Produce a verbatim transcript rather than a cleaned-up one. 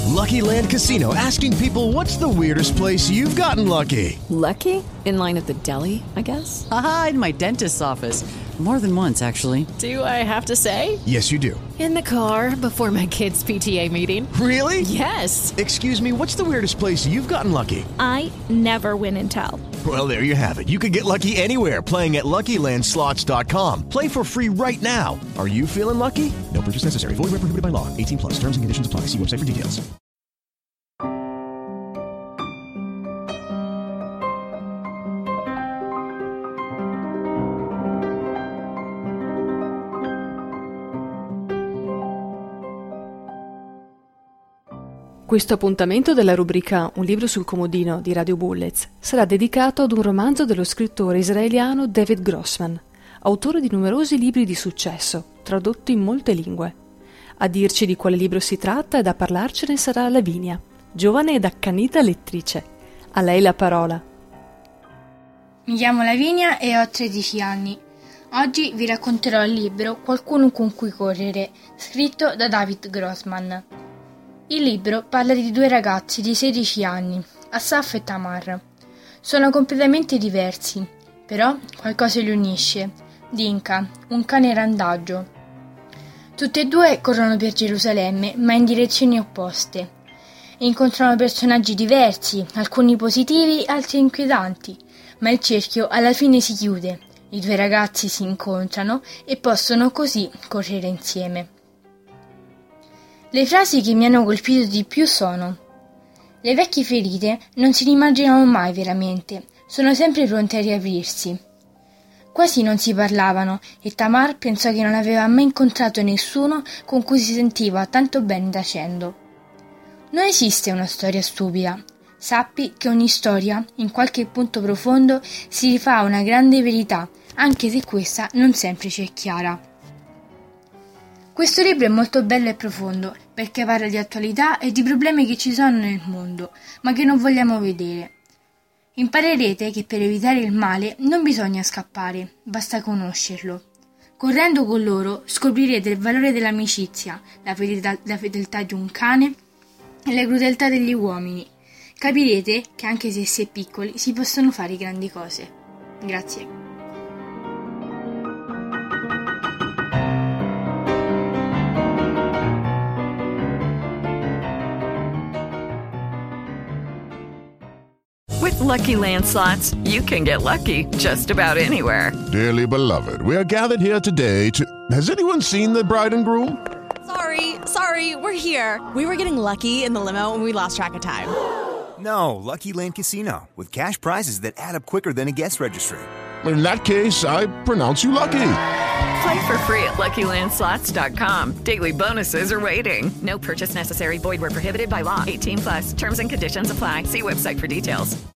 Lucky Land Casino, asking people, what's the weirdest place you've gotten lucky? Lucky? In line at the deli, I guess? Aha, in my dentist's office. More than once, actually. Do I have to say? Yes, you do. In the car before my kids' P T A meeting. Really? Yes. Excuse me, what's the weirdest place you've gotten lucky? I never win and tell. Well, there you have it. You can get lucky anywhere, playing at Lucky Land Slots dot com. Play for free right now. Are you feeling lucky? No purchase necessary. Void where prohibited by law. eighteen plus. Terms and conditions apply. See website for details. Questo appuntamento della rubrica Un libro sul comodino di Radio Bullets sarà dedicato ad un romanzo dello scrittore israeliano David Grossman, autore di numerosi libri di successo, tradotti in molte lingue. A dirci di quale libro si tratta ed a parlarcene sarà Lavinia, giovane ed accanita lettrice. A lei la parola. Mi chiamo Lavinia e ho tredici anni. Oggi vi racconterò il libro Qualcuno con cui correre, scritto da David Grossman. Il libro parla di due ragazzi di sedici anni, Asaf e Tamar. Sono completamente diversi, però qualcosa li unisce. Dinka, un cane randagio. Tutti e due corrono per Gerusalemme, ma in direzioni opposte. Incontrano personaggi diversi, alcuni positivi, altri inquietanti, ma il cerchio alla fine si chiude. I due ragazzi si incontrano e possono così correre insieme. Le frasi che mi hanno colpito di più sono: le vecchie ferite non si rimarginano mai veramente, sono sempre pronte a riaprirsi. Quasi non si parlavano e Tamar pensò che non aveva mai incontrato nessuno con cui si sentiva tanto bene tacendo. Non esiste una storia stupida. Sappi che ogni storia, in qualche punto profondo, si rifà a una grande verità, anche se questa non sempre ci è chiara. Questo libro è molto bello e profondo, perché parla di attualità e di problemi che ci sono nel mondo, ma che non vogliamo vedere. Imparerete che per evitare il male non bisogna scappare, basta conoscerlo. Correndo con loro scoprirete il valore dell'amicizia, la fedeltà, la fedeltà di un cane e la crudeltà degli uomini. Capirete che anche se si è piccoli si possono fare grandi cose. Grazie. With Lucky Land Slots, you can get lucky just about anywhere. Dearly beloved, we are gathered here today to... Has anyone seen the bride and groom? Sorry, sorry, we're here. We were getting lucky in the limo and we lost track of time. No, Lucky Land Casino, with cash prizes that add up quicker than a guest registry. In that case, I pronounce you lucky. Play for free at Lucky Land Slots dot com. Daily bonuses are waiting. No purchase necessary. Void where prohibited by law. eighteen plus. Terms and conditions apply. See website for details.